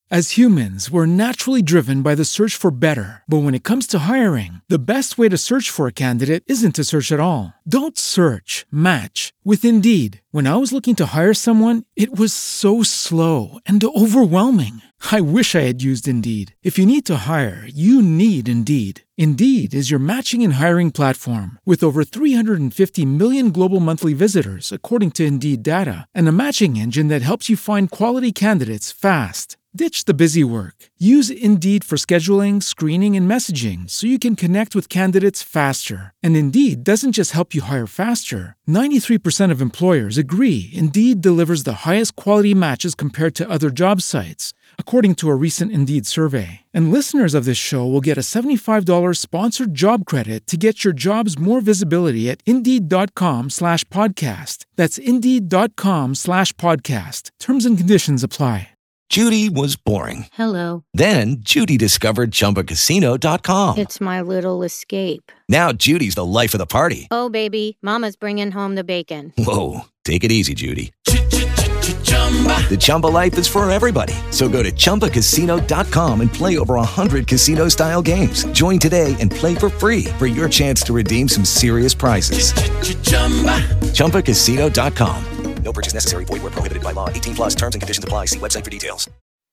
As humans, we're naturally driven by the search for better. But when it comes to hiring, the best way to search for a candidate isn't to search at all. Don't search, match with Indeed. When I was looking to hire someone, it was so slow and overwhelming. I wish I had used Indeed. If you need to hire, you need Indeed. Indeed is your matching and hiring platform with over 350 million global monthly visitors, according to Indeed data, and a matching engine that helps you find quality candidates fast. Ditch the busy work. Use Indeed for scheduling, screening, and messaging so you can connect with candidates faster. And Indeed doesn't just help you hire faster. 93% of employers agree Indeed delivers the highest quality matches compared to other job sites, according to a recent Indeed survey. And listeners of this show will get a $75 sponsored job credit to get your jobs more visibility at Indeed.com/podcast. That's Indeed.com/podcast. Terms and conditions apply. Judy was boring. Hello. Then Judy discovered ChumbaCasino.com. It's my little escape. Now Judy's the life of the party. Oh, baby, mama's bringing home the bacon. Whoa, take it easy, Judy. The Chumba life is for everybody. So go to ChumbaCasino.com and play over 100 casino-style games. Join today and play for free for your chance to redeem some serious prizes. ChumbaCasino.com. No purchase necessary. Void where prohibited by law. 18 plus terms and conditions apply. See website for details.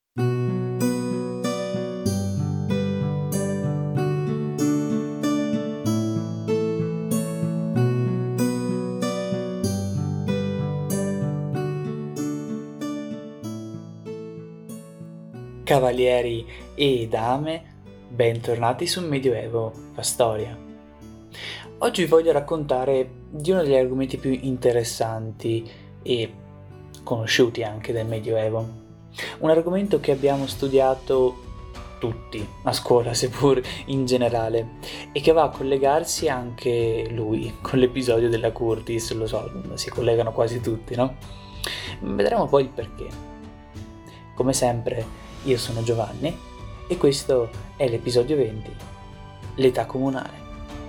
Cavalieri e dame, bentornati su Medioevo fa storia. Oggi vi voglio raccontare di uno degli argomenti più interessanti e conosciuti anche del Medioevo. Un argomento che abbiamo studiato tutti a scuola, seppur in generale, e che va a collegarsi anche lui con l'episodio della Curtis. Lo so, si collegano quasi tutti, no? Vedremo poi il perché. Come sempre, io sono Giovanni e questo è l'episodio 20, l'età comunale.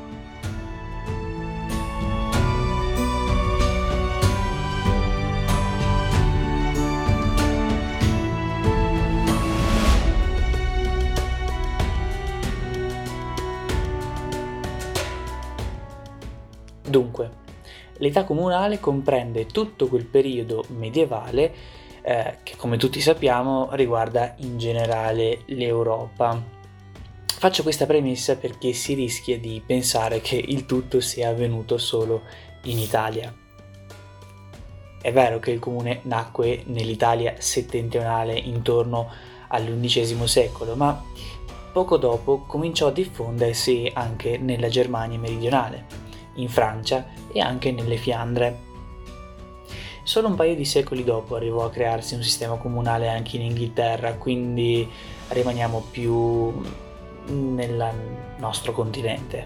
Dunque, l'età comunale comprende tutto quel periodo medievale che, come tutti sappiamo, riguarda in generale l'Europa. Faccio questa premessa perché si rischia di pensare che il tutto sia avvenuto solo in Italia. È vero che il comune nacque nell'Italia settentrionale intorno all'XI secolo, ma poco dopo cominciò a diffondersi anche nella Germania meridionale, in Francia e anche nelle Fiandre. Solo un paio di secoli dopo arrivò a crearsi un sistema comunale anche in Inghilterra, quindi rimaniamo più nel nostro continente.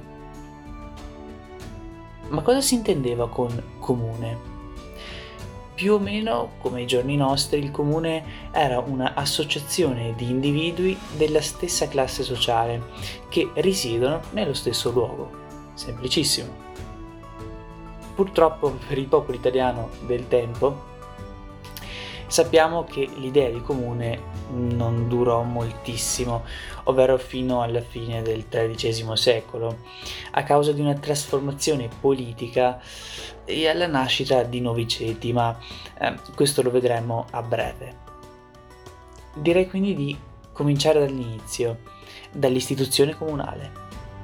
Ma cosa si intendeva con comune? Più o meno, come ai giorni nostri, il comune era un'associazione di individui della stessa classe sociale che risiedono nello stesso luogo. Semplicissimo. Purtroppo per il popolo italiano del tempo sappiamo che l'idea di comune non durò moltissimo, ovvero fino alla fine del XIII secolo, a causa di una trasformazione politica e alla nascita di nuovi ceti, ma questo lo vedremo a breve. Direi quindi di cominciare dall'inizio, dall'istituzione comunale.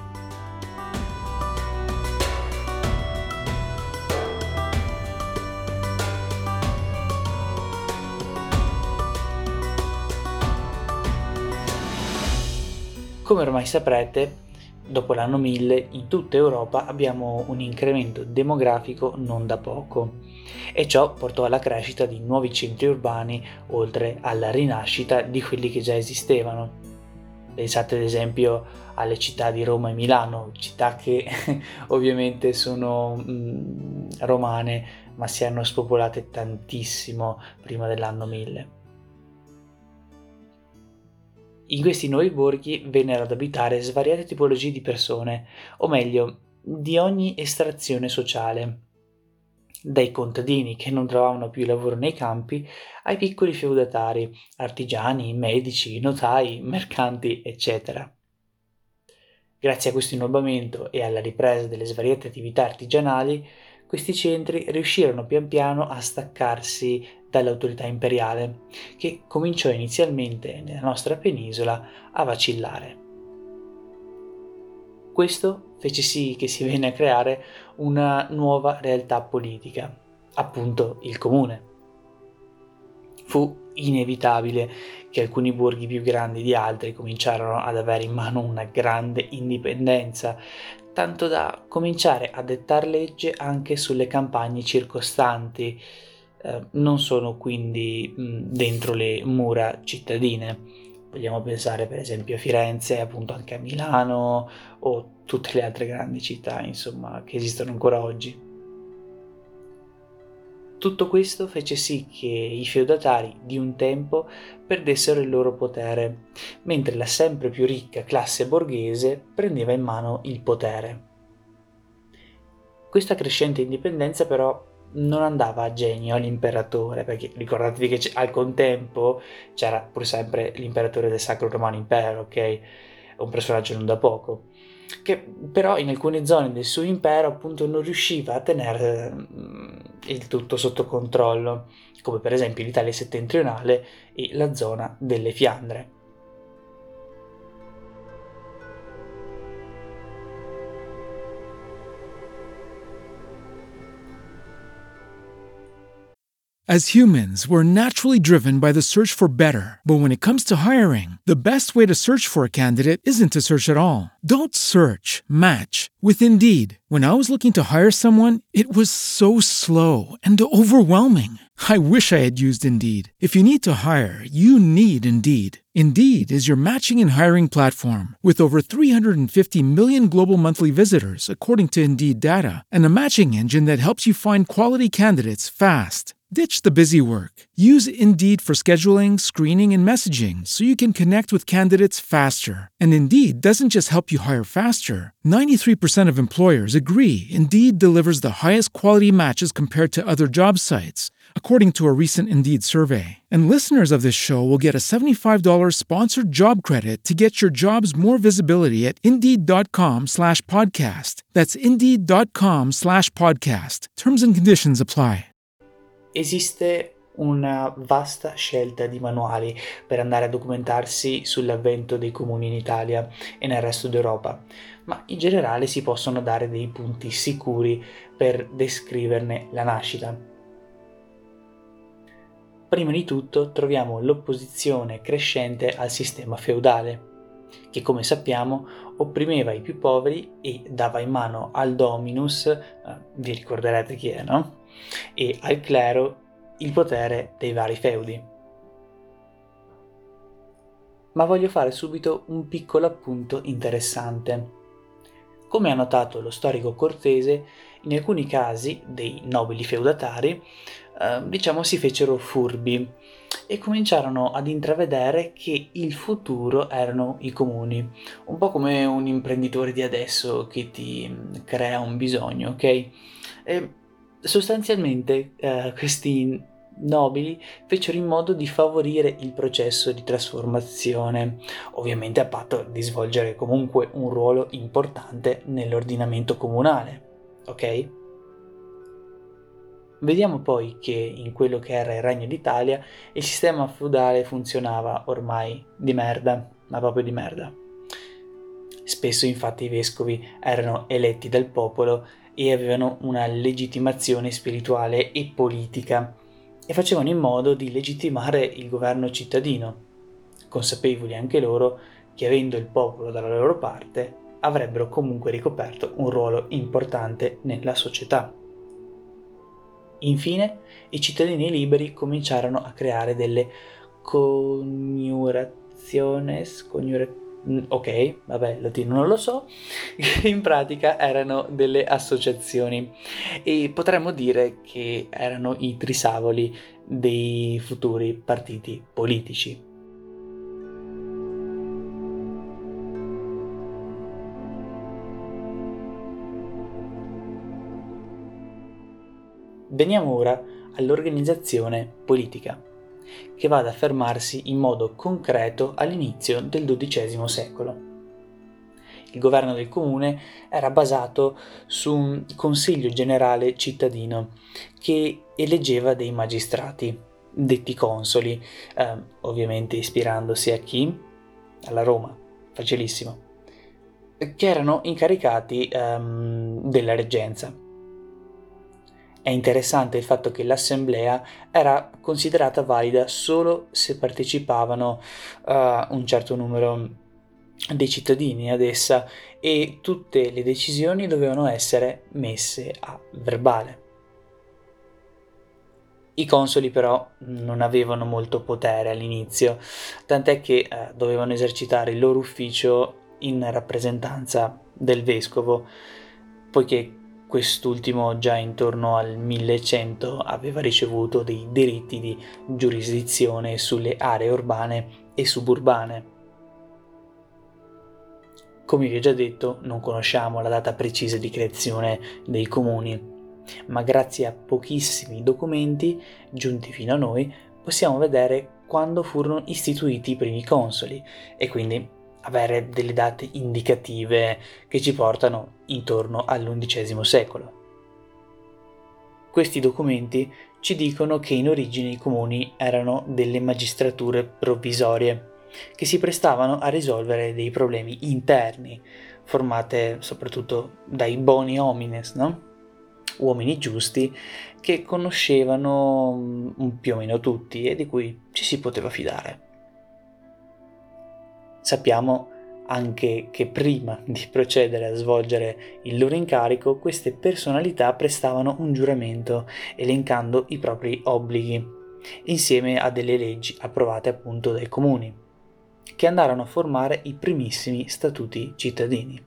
Come ormai saprete, dopo l'anno 1000 in tutta Europa abbiamo un incremento demografico non da poco e ciò portò alla crescita di nuovi centri urbani oltre alla rinascita di quelli che già esistevano. Pensate ad esempio alle città di Roma e Milano, città che ovviamente sono romane ma si erano spopolate tantissimo prima dell'anno 1000. In questi nuovi borghi vennero ad abitare svariate tipologie di persone, o meglio, di ogni estrazione sociale. dai contadini che non trovavano più lavoro nei campi ai piccoli feudatari, artigiani, medici, notai, mercanti, eccetera. Grazie a questo innovatamento e alla ripresa delle svariate attività artigianali, questi centri riuscirono pian piano a staccarsi dall'autorità imperiale, che cominciò inizialmente nella nostra penisola a vacillare. Questo fece sì che si venne a creare una nuova realtà politica, appunto il comune. Fu inevitabile che alcuni borghi più grandi di altri cominciarono ad avere in mano una grande indipendenza, tanto da cominciare a dettar legge anche sulle campagne circostanti, non solo quindi dentro le mura cittadine. Vogliamo pensare per esempio a Firenze, appunto anche a Milano o tutte le altre grandi città, insomma, che esistono ancora oggi. Tutto questo fece sì che i feudatari di un tempo perdessero il loro potere, mentre la sempre più ricca classe borghese prendeva in mano il potere. Questa crescente indipendenza però non andava a genio all'imperatore, perché ricordatevi che al contempo c'era pur sempre l'imperatore del Sacro Romano Impero, ok? Un personaggio non da poco, che però in alcune zone del suo impero appunto non riusciva a tenere il tutto sotto controllo, come per esempio l'Italia settentrionale e la zona delle Fiandre. As humans, we're naturally driven by the search for better. But when it comes to hiring, the best way to search for a candidate isn't to search at all. Don't search, match with Indeed. When I was looking to hire someone, it was so slow and overwhelming. I wish I had used Indeed. If you need to hire, you need Indeed. Indeed is your matching and hiring platform with over 350 million global monthly visitors, according to Indeed data, and a matching engine that helps you find quality candidates fast. Ditch the busy work. Use Indeed for scheduling, screening, and messaging so you can connect with candidates faster. And Indeed doesn't just help you hire faster. 93% of employers agree Indeed delivers the highest quality matches compared to other job sites, according to a recent Indeed survey. And listeners of this show will get a $75 sponsored job credit to get your jobs more visibility at Indeed.com/podcast. That's Indeed.com/podcast. Terms and conditions apply. Esiste una vasta scelta di manuali per andare a documentarsi sull'avvento dei comuni in Italia e nel resto d'Europa, ma in generale si possono dare dei punti sicuri per descriverne la nascita. Prima di tutto troviamo l'opposizione crescente al sistema feudale, che come sappiamo opprimeva i più poveri e dava in mano al dominus, vi ricorderete chi è, no? E al clero il potere dei vari feudi. Ma voglio fare subito un piccolo appunto interessante. Come ha notato lo storico Cortese, in alcuni casi dei nobili feudatari, si fecero furbi e cominciarono ad intravedere che il futuro erano i comuni, un po' come un imprenditore di adesso che ti crea un bisogno, ok? E sostanzialmente questi nobili fecero in modo di favorire il processo di trasformazione, ovviamente a patto di svolgere comunque un ruolo importante nell'ordinamento comunale, ok? Vediamo poi che in quello che era il Regno d'Italia il sistema feudale funzionava ormai di merda, ma proprio di merda. Spesso infatti i vescovi erano eletti dal popolo e avevano una legittimazione spirituale e politica e facevano in modo di legittimare il governo cittadino, consapevoli anche loro che avendo il popolo dalla loro parte avrebbero comunque ricoperto un ruolo importante nella società. Infine, i cittadini liberi cominciarono a creare delle ok, vabbè, il latino non lo so, che in pratica erano delle associazioni e potremmo dire che erano i trisavoli dei futuri partiti politici. Veniamo ora all'organizzazione politica, che va ad affermarsi in modo concreto all'inizio del XII secolo. Il governo del comune era basato su un consiglio generale cittadino che eleggeva dei magistrati, detti consoli, ovviamente ispirandosi a chi? Alla Roma, facilissimo, che erano incaricati della reggenza. È interessante il fatto che l'assemblea era considerata valida solo se partecipavano un certo numero dei cittadini ad essa e tutte le decisioni dovevano essere messe a verbale. I consoli però non avevano molto potere all'inizio, tant'è che dovevano esercitare il loro ufficio in rappresentanza del vescovo, poiché quest'ultimo già intorno al 1100 aveva ricevuto dei diritti di giurisdizione sulle aree urbane e suburbane. Come vi ho già detto, non conosciamo la data precisa di creazione dei comuni, ma grazie a pochissimi documenti giunti fino a noi possiamo vedere quando furono istituiti i primi consoli e quindi avere delle date indicative che ci portano intorno all'XI secolo. Questi documenti ci dicono che in origine i comuni erano delle magistrature provvisorie che si prestavano a risolvere dei problemi interni, formate soprattutto dai boni homines, no? Uomini giusti che conoscevano più o meno tutti e di cui ci si poteva fidare. Sappiamo anche che prima di procedere a svolgere il loro incarico, queste personalità prestavano un giuramento elencando i propri obblighi, insieme a delle leggi approvate appunto dai comuni, che andarono a formare i primissimi statuti cittadini.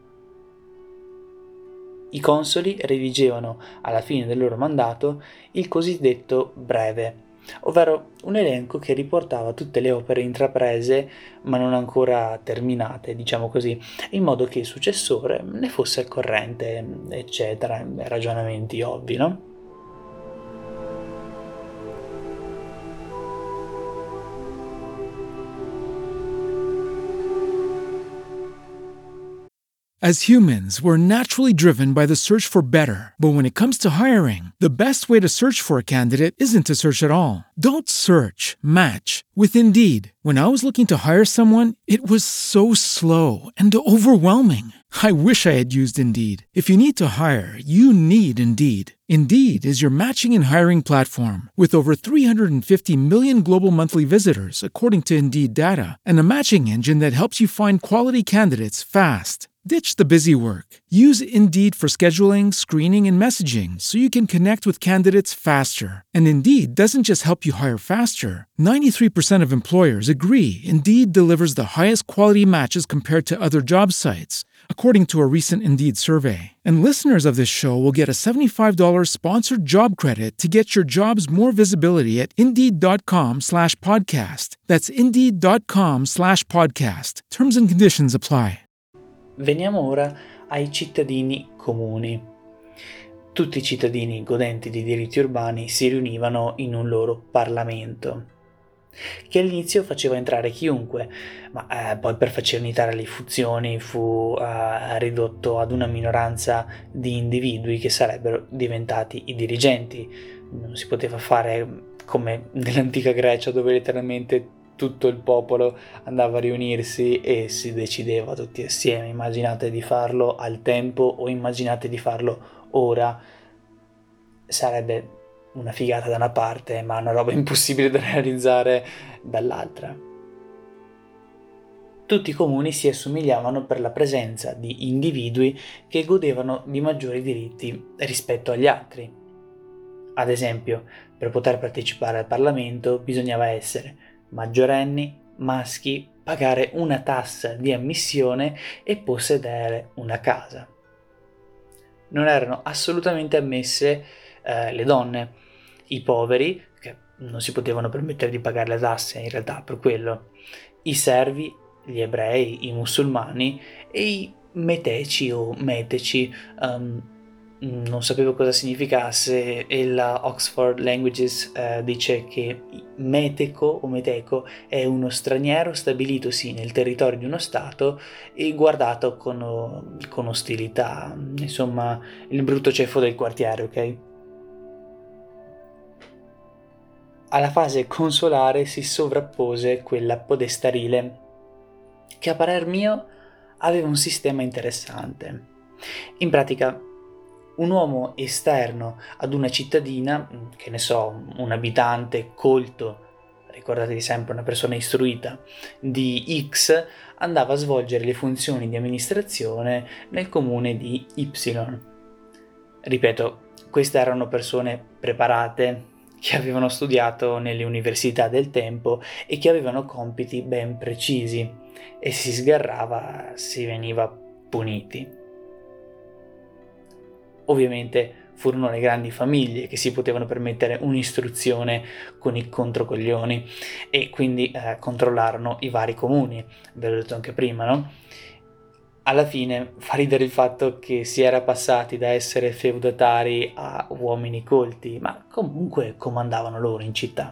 I consoli redigevano alla fine del loro mandato il cosiddetto breve, ovvero un elenco che riportava tutte le opere intraprese ma non ancora terminate, diciamo così, in modo che il successore ne fosse al corrente, eccetera, ragionamenti ovvi, no? As humans, we're naturally driven by the search for better. But when it comes to hiring, the best way to search for a candidate isn't to search at all. Don't search, match with Indeed. When I was looking to hire someone, it was so slow and overwhelming. I wish I had used Indeed. If you need to hire, you need Indeed. Indeed is your matching and hiring platform with over 350 million global monthly visitors, according to Indeed data, and a matching engine that helps you find quality candidates fast. Ditch the busy work. Use Indeed for scheduling, screening, and messaging so you can connect with candidates faster. And Indeed doesn't just help you hire faster. 93% of employers agree Indeed delivers the highest quality matches compared to other job sites, according to a recent Indeed survey. And listeners of this show will get a $75 sponsored job credit to get your jobs more visibility at Indeed.com/podcast. That's Indeed.com/podcast. Terms and conditions apply. Veniamo ora ai cittadini comuni. Tutti i cittadini godenti di diritti urbani si riunivano in un loro Parlamento, che all'inizio faceva entrare chiunque, ma poi per facilitare le funzioni fu ridotto ad una minoranza di individui che sarebbero diventati i dirigenti. Non si poteva fare come nell'antica Grecia, dove letteralmente tutto il popolo andava a riunirsi e si decideva tutti assieme. Immaginate di farlo al tempo o immaginate di farlo ora. Sarebbe una figata da una parte, ma una roba impossibile da realizzare dall'altra. Tutti i comuni si assomigliavano per la presenza di individui che godevano di maggiori diritti rispetto agli altri. Ad esempio, per poter partecipare al Parlamento bisognava essere maggiorenni, maschi, pagare una tassa di ammissione e possedere una casa. Non erano assolutamente ammesse le donne, i poveri, che non si potevano permettere di pagare le tasse in realtà per quello, i servi, gli ebrei, i musulmani e i meteci o meteci, non sapevo cosa significasse e la Oxford Languages dice che meteco è uno straniero stabilitosi nel territorio di uno stato e guardato con ostilità, insomma il brutto ceffo del quartiere, ok? Alla fase consolare si sovrappose quella podestarile, che a parer mio aveva un sistema interessante. In pratica, un uomo esterno ad una cittadina, che ne so, un abitante colto, ricordatevi sempre una persona istruita, di X, andava a svolgere le funzioni di amministrazione nel comune di Y. Ripeto, queste erano persone preparate, che avevano studiato nelle università del tempo e che avevano compiti ben precisi, e se si sgarrava si veniva puniti. Ovviamente furono le grandi famiglie che si potevano permettere un'istruzione con i controcoglioni e quindi controllarono i vari comuni, ve l'ho detto anche prima, no? Alla fine fa ridere il fatto che si era passati da essere feudatari a uomini colti, ma comunque comandavano loro in città.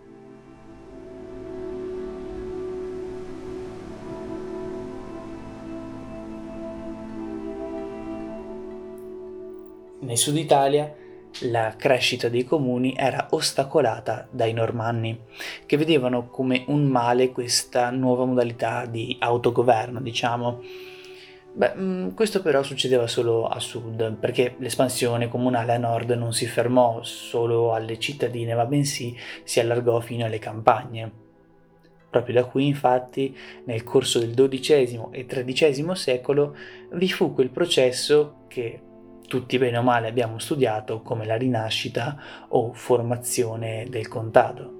Nel sud Italia la crescita dei comuni era ostacolata dai normanni, che vedevano come un male questa nuova modalità di autogoverno, diciamo. Questo però succedeva solo a sud, perché l'espansione comunale a nord non si fermò solo alle cittadine, ma bensì si allargò fino alle campagne. Proprio da qui, infatti, nel corso del XII e XIII secolo vi fu quel processo che tutti bene o male abbiamo studiato come la rinascita o formazione del contado.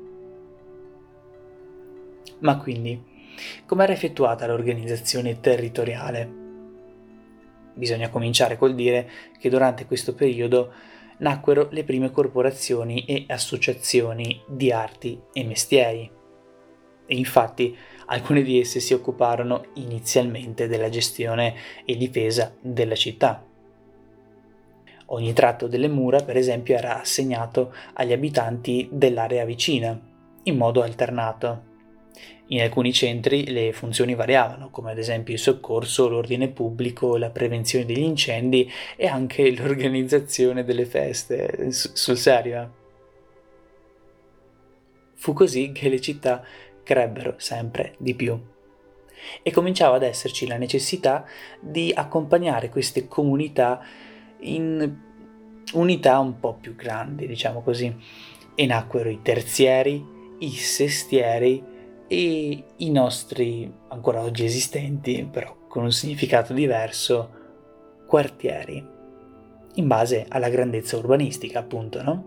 Ma quindi, com'era effettuata l'organizzazione territoriale? Bisogna cominciare col dire che durante questo periodo nacquero le prime corporazioni e associazioni di arti e mestieri. E infatti alcune di esse si occuparono inizialmente della gestione e difesa della città. Ogni tratto delle mura, per esempio, era assegnato agli abitanti dell'area vicina, in modo alternato. In alcuni centri le funzioni variavano, come ad esempio il soccorso, l'ordine pubblico, la prevenzione degli incendi e anche l'organizzazione delle feste, sul serio. Fu così che le città crebbero sempre di più e cominciava ad esserci la necessità di accompagnare queste comunità in unità un po' più grandi, diciamo così, e nacquero i terzieri, i sestieri e i nostri, ancora oggi esistenti, però con un significato diverso, quartieri, in base alla grandezza urbanistica, appunto, no?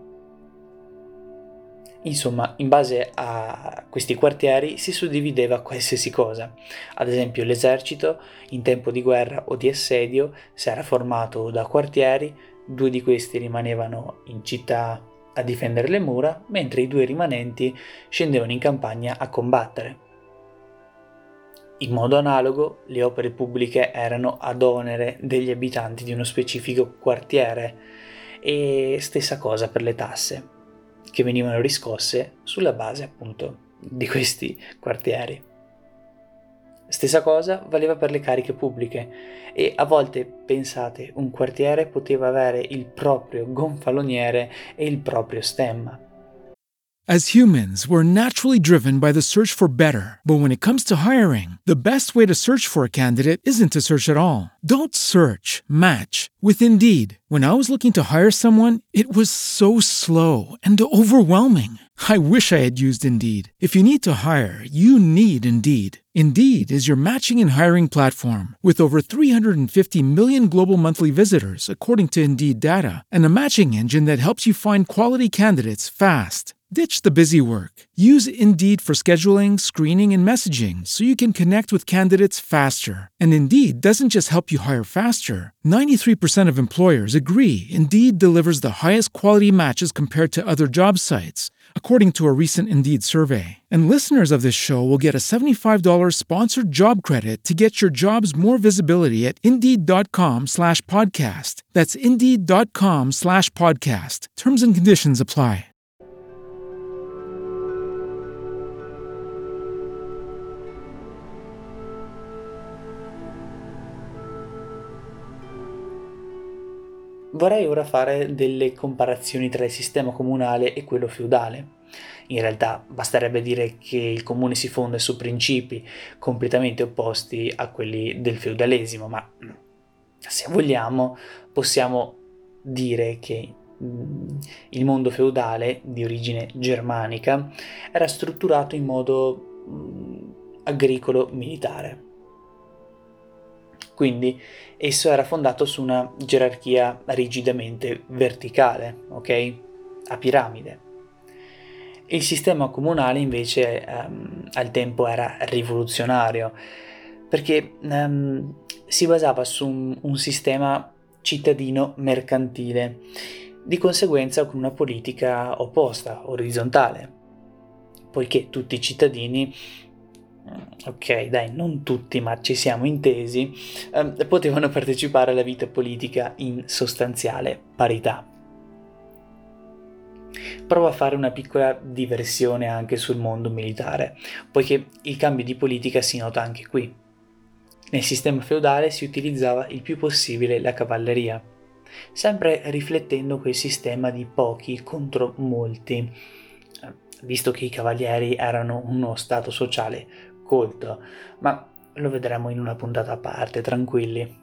Insomma, in base a questi quartieri si suddivideva qualsiasi cosa. Ad esempio, l'esercito, in tempo di guerra o di assedio, si era formato da quartieri, 2 di questi rimanevano in città a difendere le mura, mentre i 2 rimanenti scendevano in campagna a combattere. In modo analogo, le opere pubbliche erano ad onere degli abitanti di uno specifico quartiere e stessa cosa per le tasse, che venivano riscosse sulla base appunto di questi quartieri. Stessa cosa valeva per le cariche pubbliche e a volte, pensate, un quartiere poteva avere il proprio gonfaloniere e il proprio stemma. As humans, we're naturally driven by the search for better. But when it comes to hiring, the best way to search for a candidate isn't to search at all. Don't search, match with Indeed. When I was looking to hire someone, it was so slow and overwhelming. I wish I had used Indeed. If you need to hire, you need Indeed. Indeed is your matching and hiring platform with over 350 million global monthly visitors, according to Indeed data, and a matching engine that helps you find quality candidates fast. Ditch the busy work. Use Indeed for scheduling, screening, and messaging so you can connect with candidates faster. And Indeed doesn't just help you hire faster. 93% of employers agree Indeed delivers the highest quality matches compared to other job sites. according to a recent Indeed survey. And listeners of this show will get a $75 sponsored job credit to get your jobs more visibility at Indeed.com/podcast. That's Indeed.com/podcast. Terms and conditions apply. Vorrei ora fare delle comparazioni tra il sistema comunale e quello feudale. In realtà basterebbe dire che il comune si fonda su principi completamente opposti a quelli del feudalesimo, ma se vogliamo possiamo dire che il mondo feudale di origine germanica era strutturato in modo agricolo-militare. Quindi esso era fondato su una gerarchia rigidamente verticale, ok? A piramide. Il sistema comunale invece al tempo era rivoluzionario perché si basava su un sistema cittadino mercantile, di conseguenza con una politica opposta, orizzontale, poiché tutti i cittadini, ok dai, non tutti ma ci siamo intesi, potevano partecipare alla vita politica in sostanziale parità. Provo a fare una piccola diversione anche sul mondo militare, poiché il cambio di politica si nota anche qui. Nel sistema feudale si utilizzava il più possibile la cavalleria, sempre riflettendo quel sistema di pochi contro molti, visto che i cavalieri erano uno stato sociale colto, ma lo vedremo in una puntata a parte, tranquilli.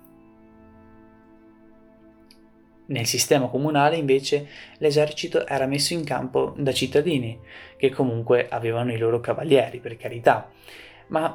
Nel sistema comunale invece l'esercito era messo in campo da cittadini, che comunque avevano i loro cavalieri, per carità, ma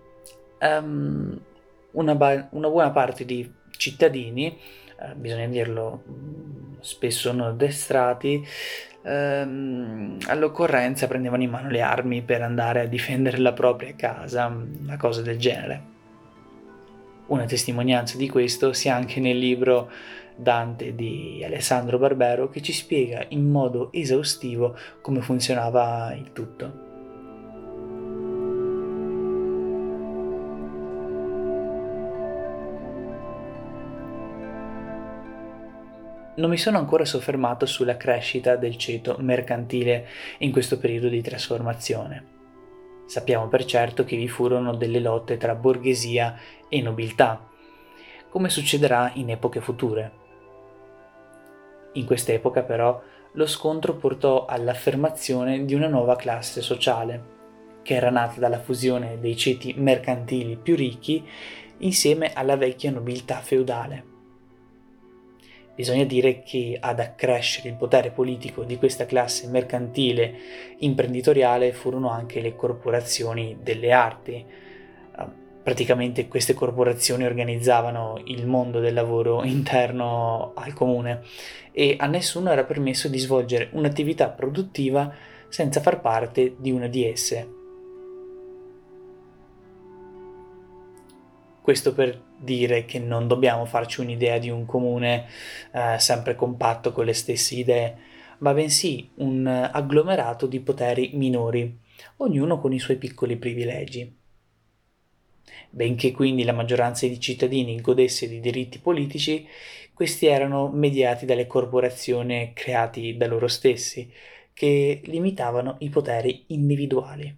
una buona parte di cittadini, bisogna dirlo, spesso non addestrati, all'occorrenza prendevano in mano le armi per andare a difendere la propria casa, una cosa del genere. Una testimonianza di questo si ha anche nel libro Dante di Alessandro Barbero, che ci spiega in modo esaustivo come funzionava il tutto. Non mi sono ancora soffermato sulla crescita del ceto mercantile in questo periodo di trasformazione. Sappiamo per certo che vi furono delle lotte tra borghesia e nobiltà, come succederà in epoche future. In quest'epoca però lo scontro portò all'affermazione di una nuova classe sociale, che era nata dalla fusione dei ceti mercantili più ricchi insieme alla vecchia nobiltà feudale. Bisogna dire che ad accrescere il potere politico di questa classe mercantile imprenditoriale furono anche le corporazioni delle arti. Praticamente queste corporazioni organizzavano il mondo del lavoro interno al comune e a nessuno era permesso di svolgere un'attività produttiva senza far parte di una di esse. Questo per dire che non dobbiamo farci un'idea di un comune sempre compatto con le stesse idee, ma bensì un agglomerato di poteri minori, ognuno con i suoi piccoli privilegi. Benché quindi la maggioranza dei cittadini godesse di diritti politici, questi erano mediati dalle corporazioni create da loro stessi, che limitavano i poteri individuali.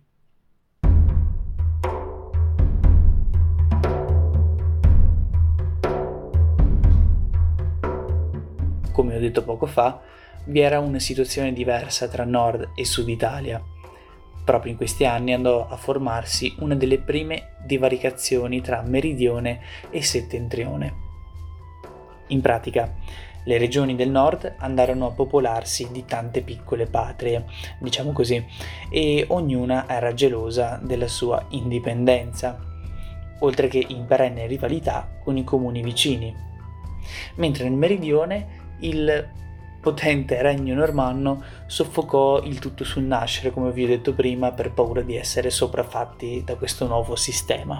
Come ho detto poco fa, vi era una situazione diversa tra Nord e Sud Italia. Proprio in questi anni andò a formarsi una delle prime divaricazioni tra Meridione e Settentrione. In pratica, le regioni del Nord andarono a popolarsi di tante piccole patrie, diciamo così, e ognuna era gelosa della sua indipendenza, oltre che in perenne rivalità con i comuni vicini. Mentre nel Meridione il potente regno normanno soffocò il tutto sul nascere, come vi ho detto prima, per paura di essere sopraffatti da questo nuovo sistema.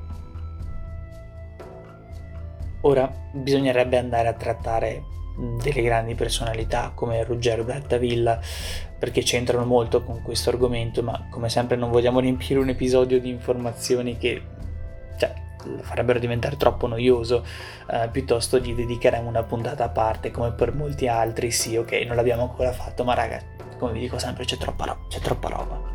Ora bisognerebbe andare a trattare delle grandi personalità come Ruggero Brattavilla, perché c'entrano molto con questo argomento, ma come sempre non vogliamo riempire un episodio di informazioni che lo farebbero diventare troppo noioso, piuttosto gli dedicheremo una puntata a parte, come per molti altri. Sì, ok, non l'abbiamo ancora fatto, ma raga, come vi dico sempre, c'è troppa roba.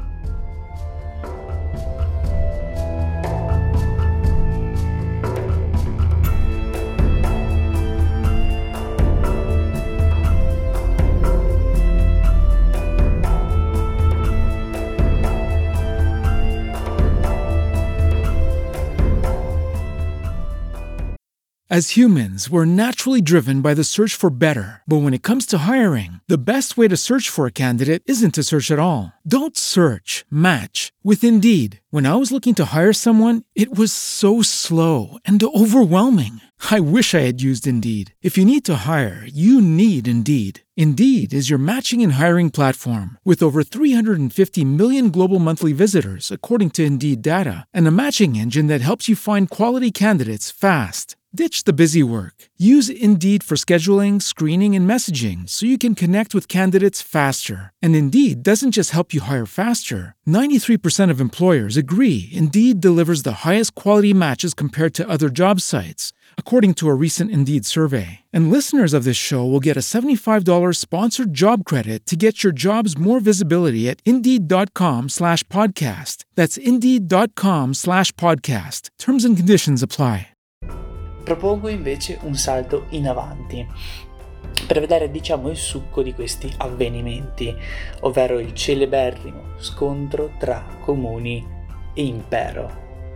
As humans, we're naturally driven by the search for better. But when it comes to hiring, the best way to search for a candidate isn't to search at all. Don't search, match with Indeed. When I was looking to hire someone, it was so slow and overwhelming. I wish I had used Indeed. If you need to hire, you need Indeed. Indeed is your matching and hiring platform with over 350 million global monthly visitors, according to Indeed data, and a matching engine that helps you find quality candidates fast. Ditch the busy work. Use Indeed for scheduling, screening, and messaging so you can connect with candidates faster. And Indeed doesn't just help you hire faster. 93% of employers agree Indeed delivers the highest quality matches compared to other job sites, according to a recent Indeed survey. And listeners of this show will get a $75 sponsored job credit to get your jobs more visibility at Indeed.com/podcast. That's Indeed.com/podcast. Terms and conditions apply. Propongo invece un salto in avanti per vedere, il succo di questi avvenimenti, ovvero il celeberrimo scontro tra comuni e impero.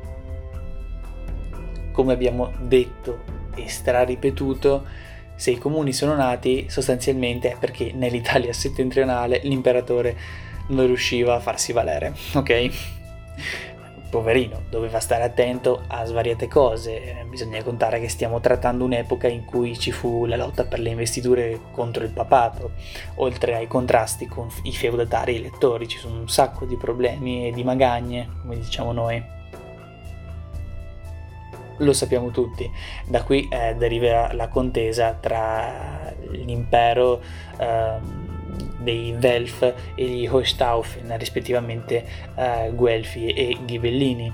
Come abbiamo detto e straripetuto, se i comuni sono nati sostanzialmente è perché nell'Italia settentrionale l'imperatore non riusciva a farsi valere, ok? Poverino, doveva stare attento a svariate cose. Bisogna contare che stiamo trattando un'epoca in cui ci fu la lotta per le investiture contro il papato, oltre ai contrasti con i feudatari elettori. Ci sono un sacco di problemi e di magagne, come diciamo noi. Lo sappiamo tutti. Da qui deriva la contesa tra l'impero dei Welf e gli Hohenstaufen, rispettivamente Guelfi e Ghibellini.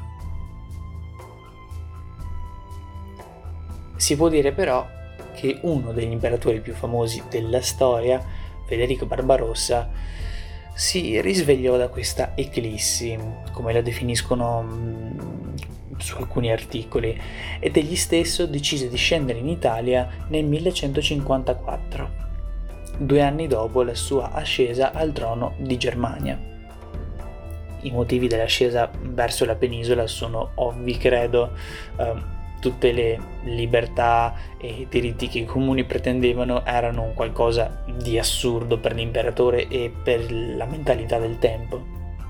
Si può dire però che uno degli imperatori più famosi della storia, Federico Barbarossa, si risvegliò da questa eclissi, come la definiscono su alcuni articoli, ed egli stesso decise di scendere in Italia nel 1154. 2 anni dopo la sua ascesa al trono di Germania. I motivi dell'ascesa verso la penisola sono ovvi, credo. Tutte le libertà e diritti che i comuni pretendevano erano un qualcosa di assurdo per l'imperatore e per la mentalità del tempo.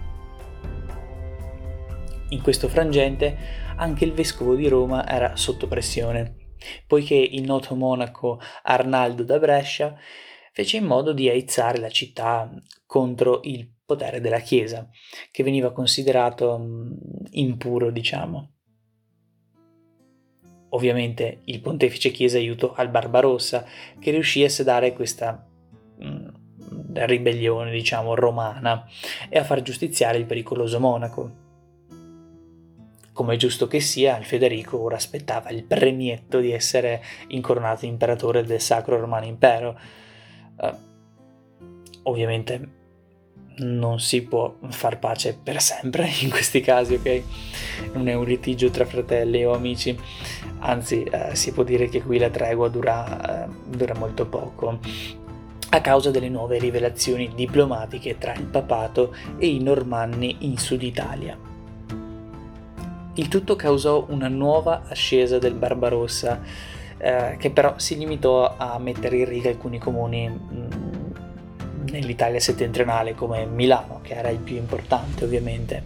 In questo frangente anche il vescovo di Roma era sotto pressione, poiché il noto monaco Arnaldo da Brescia fece in modo di aizzare la città contro il potere della Chiesa, che veniva considerato impuro, diciamo. Ovviamente il pontefice chiese aiuto al Barbarossa, che riuscì a sedare questa ribellione, diciamo, romana e a far giustiziare il pericoloso monaco. Come è giusto che sia, il Federico ora aspettava il premietto di essere incoronato imperatore del Sacro Romano Impero. Ovviamente non si può far pace per sempre in questi casi, ok? Non è un litigio tra fratelli o amici, anzi si può dire che qui la tregua dura molto poco, a causa delle nuove rivelazioni diplomatiche tra il papato e i normanni in Sud Italia. Il tutto causò una nuova ascesa del Barbarossa, che però si limitò a mettere in riga alcuni comuni nell'Italia settentrionale, come Milano, che era il più importante ovviamente.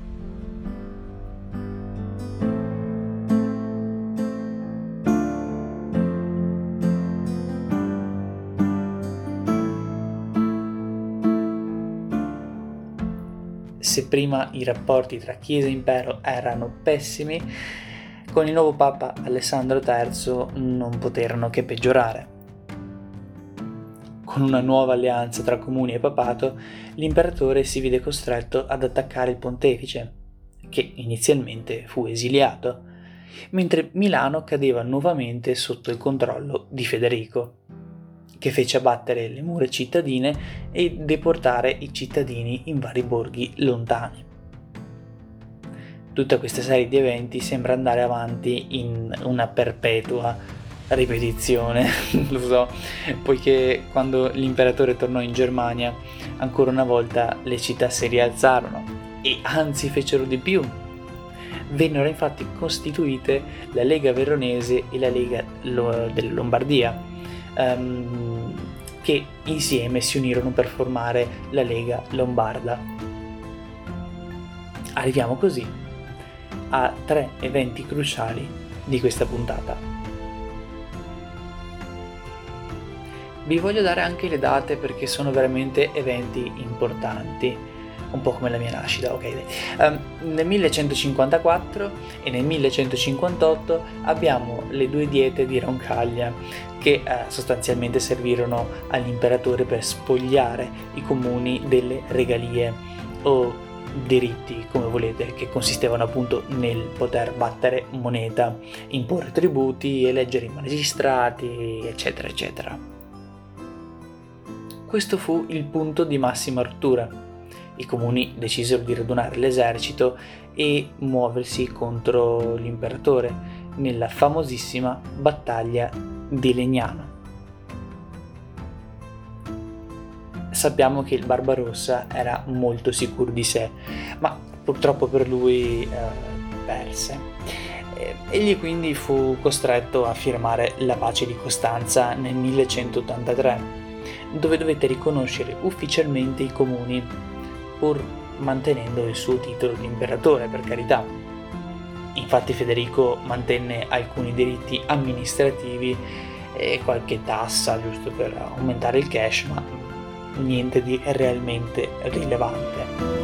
Se prima i rapporti tra Chiesa e Impero erano pessimi, con il nuovo Papa Alessandro III non poterono che peggiorare. con una nuova alleanza tra comuni e papato, l'imperatore si vide costretto ad attaccare il pontefice, che inizialmente fu esiliato, mentre Milano cadeva nuovamente sotto il controllo di Federico, che fece abbattere le mura cittadine e deportare i cittadini in vari borghi lontani. Tutta questa serie di eventi sembra andare avanti in una perpetua ripetizione, lo so, poiché quando l'imperatore tornò in Germania, ancora una volta le città si rialzarono e anzi fecero di più. Vennero infatti costituite la Lega Veronese e la Lega della Lombardia, che insieme si unirono per formare la Lega Lombarda. Arriviamo così a 3 eventi cruciali di questa puntata. Vi voglio dare anche le date perché sono veramente eventi importanti, un po' come la mia nascita, ok? Nel 1154 e nel 1158 abbiamo le 2 diete di Roncaglia che sostanzialmente servirono all'imperatore per spogliare i comuni delle regalie o diritti, come volete, che consistevano appunto nel poter battere moneta, imporre tributi, eleggere i magistrati, eccetera, eccetera. Questo fu il punto di massima rottura. I comuni decisero di radunare l'esercito e muoversi contro l'imperatore nella famosissima battaglia di Legnano. Sappiamo che il Barbarossa era molto sicuro di sé, ma purtroppo per lui perse. Egli quindi fu costretto a firmare la pace di Costanza nel 1183, dove dovette riconoscere ufficialmente i comuni, pur mantenendo il suo titolo di imperatore, per carità. Infatti Federico mantenne alcuni diritti amministrativi e qualche tassa giusto per aumentare il cash, ma niente di realmente rilevante.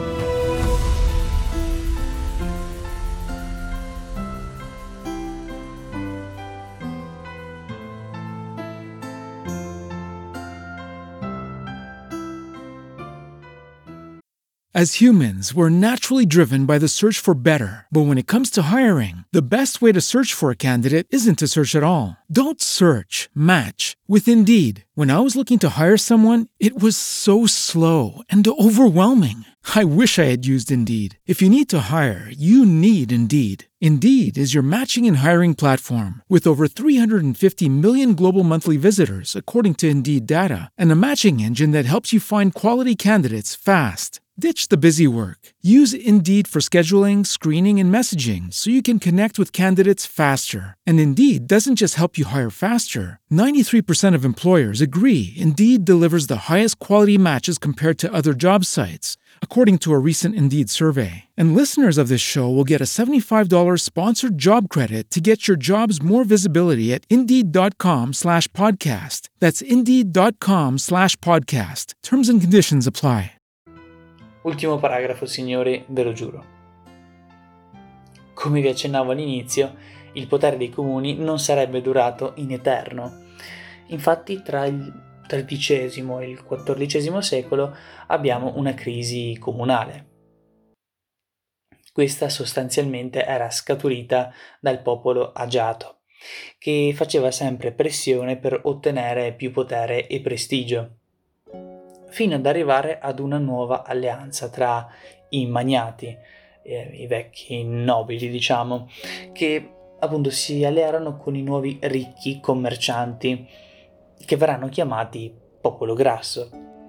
As humans, we're naturally driven by the search for better. But when it comes to hiring, the best way to search for a candidate isn't to search at all. Don't search, match with Indeed. When I was looking to hire someone, it was so slow and overwhelming. I wish I had used Indeed. If you need to hire, you need Indeed. Indeed is your matching and hiring platform with over 350 million global monthly visitors, according to Indeed data, and a matching engine that helps you find quality candidates fast. Ditch the busy work. Use Indeed for scheduling, screening, and messaging so you can connect with candidates faster. And Indeed doesn't just help you hire faster. 93% of employers agree Indeed delivers the highest quality matches compared to other job sites, according to a recent Indeed survey. And listeners of this show will get a $75 sponsored job credit to get your jobs more visibility at Indeed.com/podcast. That's Indeed.com/podcast. Terms and conditions apply. Ultimo paragrafo, signori, ve lo giuro. Come vi accennavo all'inizio, il potere dei comuni non sarebbe durato in eterno. Infatti, tra il XIII e il XIV secolo abbiamo una crisi comunale. Questa sostanzialmente era scaturita dal popolo agiato, che faceva sempre pressione per ottenere più potere e prestigio, fino ad arrivare ad una nuova alleanza tra i magnati, i vecchi nobili, diciamo, che appunto si allearono con i nuovi ricchi commercianti, che verranno chiamati popolo grasso.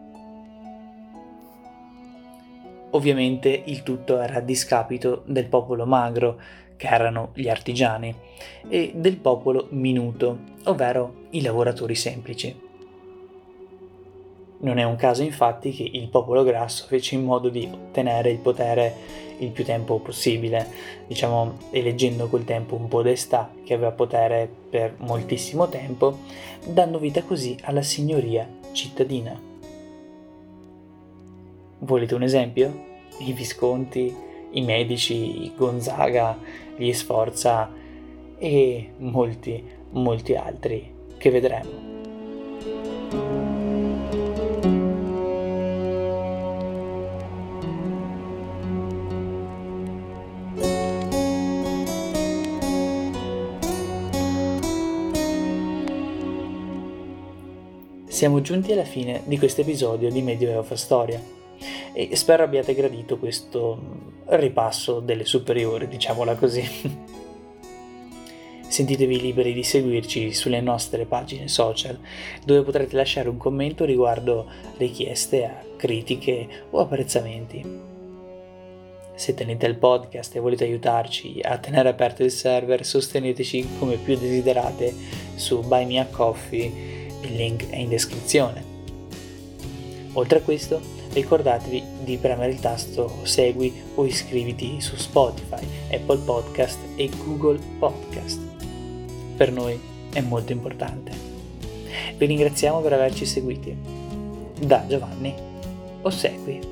Ovviamente il tutto era a discapito del popolo magro, che erano gli artigiani, e del popolo minuto, ovvero i lavoratori semplici. Non è un caso infatti che il popolo grasso fece in modo di ottenere il potere il più tempo possibile, diciamo eleggendo col tempo un podestà che aveva potere per moltissimo tempo, dando vita così alla signoria cittadina. Volete un esempio? I Visconti, i Medici, i Gonzaga, gli Sforza e molti altri che vedremo. siamo giunti alla fine di questo episodio di Medioevo fa Storia e spero abbiate gradito questo ripasso delle superiori, diciamola così. Sentitevi liberi di seguirci sulle nostre pagine social, dove potrete lasciare un commento riguardo richieste a critiche o apprezzamenti. Se tenete il podcast e volete aiutarci a tenere aperto il server, sosteneteci come più desiderate su Buy Me a Coffee, il link è in descrizione. Oltre a questo, ricordatevi di premere il tasto segui o iscriviti su Spotify, Apple Podcast e Google Podcast. Per noi è molto importante. Vi ringraziamo per averci seguiti. Da Giovanni, ossequi.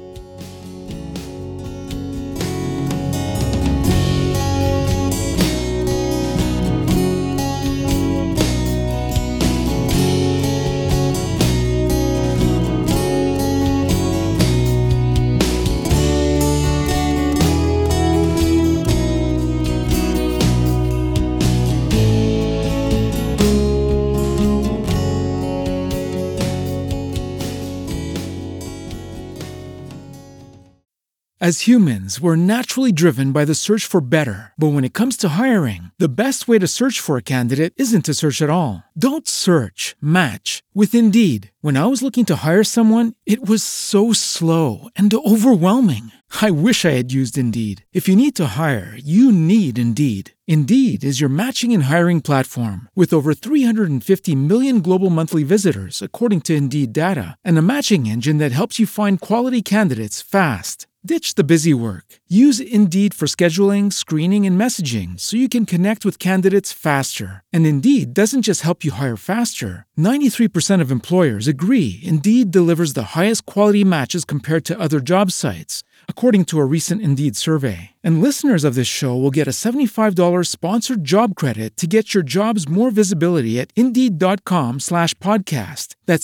As humans, we're naturally driven by the search for better. But when it comes to hiring, the best way to search for a candidate isn't to search at all. Don't search, match with Indeed. When I was looking to hire someone, it was so slow and overwhelming. I wish I had used Indeed. If you need to hire, you need Indeed. Indeed is your matching and hiring platform with over 350 million global monthly visitors, according to Indeed data, and a matching engine that helps you find quality candidates fast. Ditch the busy work. Use Indeed for scheduling, screening, and messaging so you can connect with candidates faster. And Indeed doesn't just help you hire faster. 93% of employers agree Indeed delivers the highest quality matches compared to other job sites, according to a recent Indeed survey. And listeners of this show will get a $75 sponsored job credit to get your jobs more visibility at Indeed.com/podcast. That's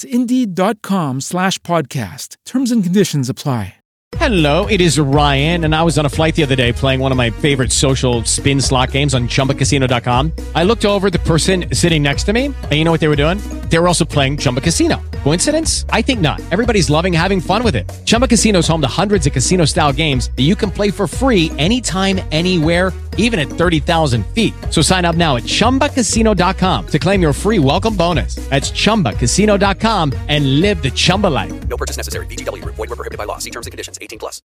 Indeed.com/podcast. Terms and conditions apply. Hello, it is Ryan, and I was on a flight the other day playing one of my favorite social spin slot games on ChumbaCasino.com. I looked over at the person sitting next to me, and you know what they were doing? They were also playing Chumba Casino. Coincidence? I think not. Everybody's loving having fun with it. Chumba Casino is home to hundreds of casino-style games that you can play for free anytime, anywhere, even at 30,000 feet. So sign up now at ChumbaCasino.com to claim your free welcome bonus. That's ChumbaCasino.com and live the Chumba life. No purchase necessary. VGW. Void where prohibited by law. See terms and conditions. 18+.